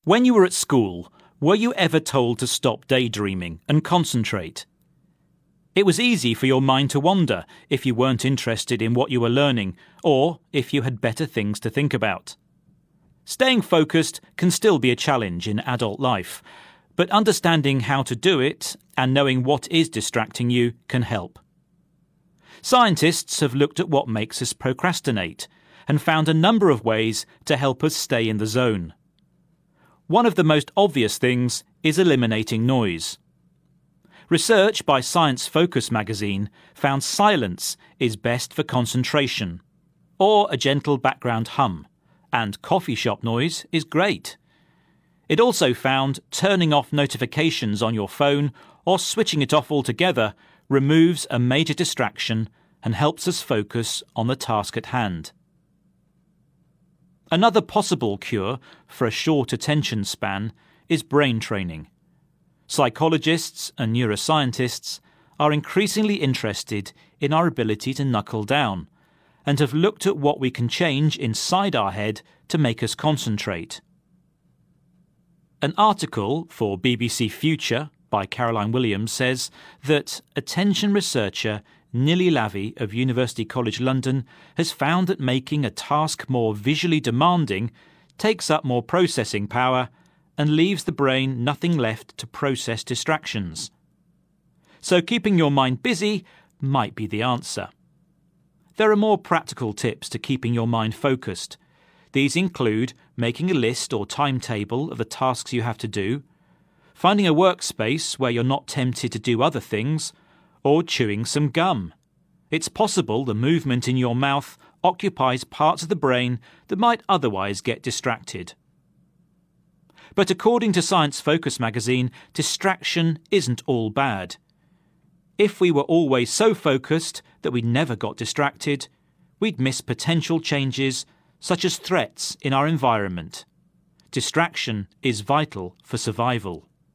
When you were at school, were you ever told to stop daydreaming and concentrate? It was easy for your mind to wander if you weren't interested in what you were learning or if you had better things to think about. Staying focused can still be a challenge in adult life, but understanding how to do it and knowing what is distracting you can help. Scientists have looked at what makes us procrastinate and found a number of ways to help us stay in the zone. One of the most obvious things is eliminating noise. Research by Science Focus magazine found silence is best for concentration, or a gentle background hum, and coffee shop noise is great. It also found turning off notifications on your phone or switching it off altogether removes a major distraction and helps us focus on the task at hand. Another possible cure for a short attention span is brain training. Psychologists and neuroscientists are increasingly interested in our ability to knuckle down and have looked at what we can change inside our head to make us concentrate. An article for BBC Future by Caroline Williams says that attention researcher Nilli Lavie of University College London has found that making a task more visually demanding takes up more processing power and leaves the brain nothing left to process distractions. So keeping your mind busy might be the answer. There are more practical tips to keeping your mind focused. These include making a list or timetable of the tasks you have to do, finding a workspace where you're not tempted to do other things, or chewing some gum. It's possible the movement in your mouth occupies parts of the brain that might otherwise get distracted. But according to Science Focus magazine, distraction isn't all bad. If we were always so focused that we never got distracted, we'd miss potential changes such as threats in our environment. Distraction is vital for survival.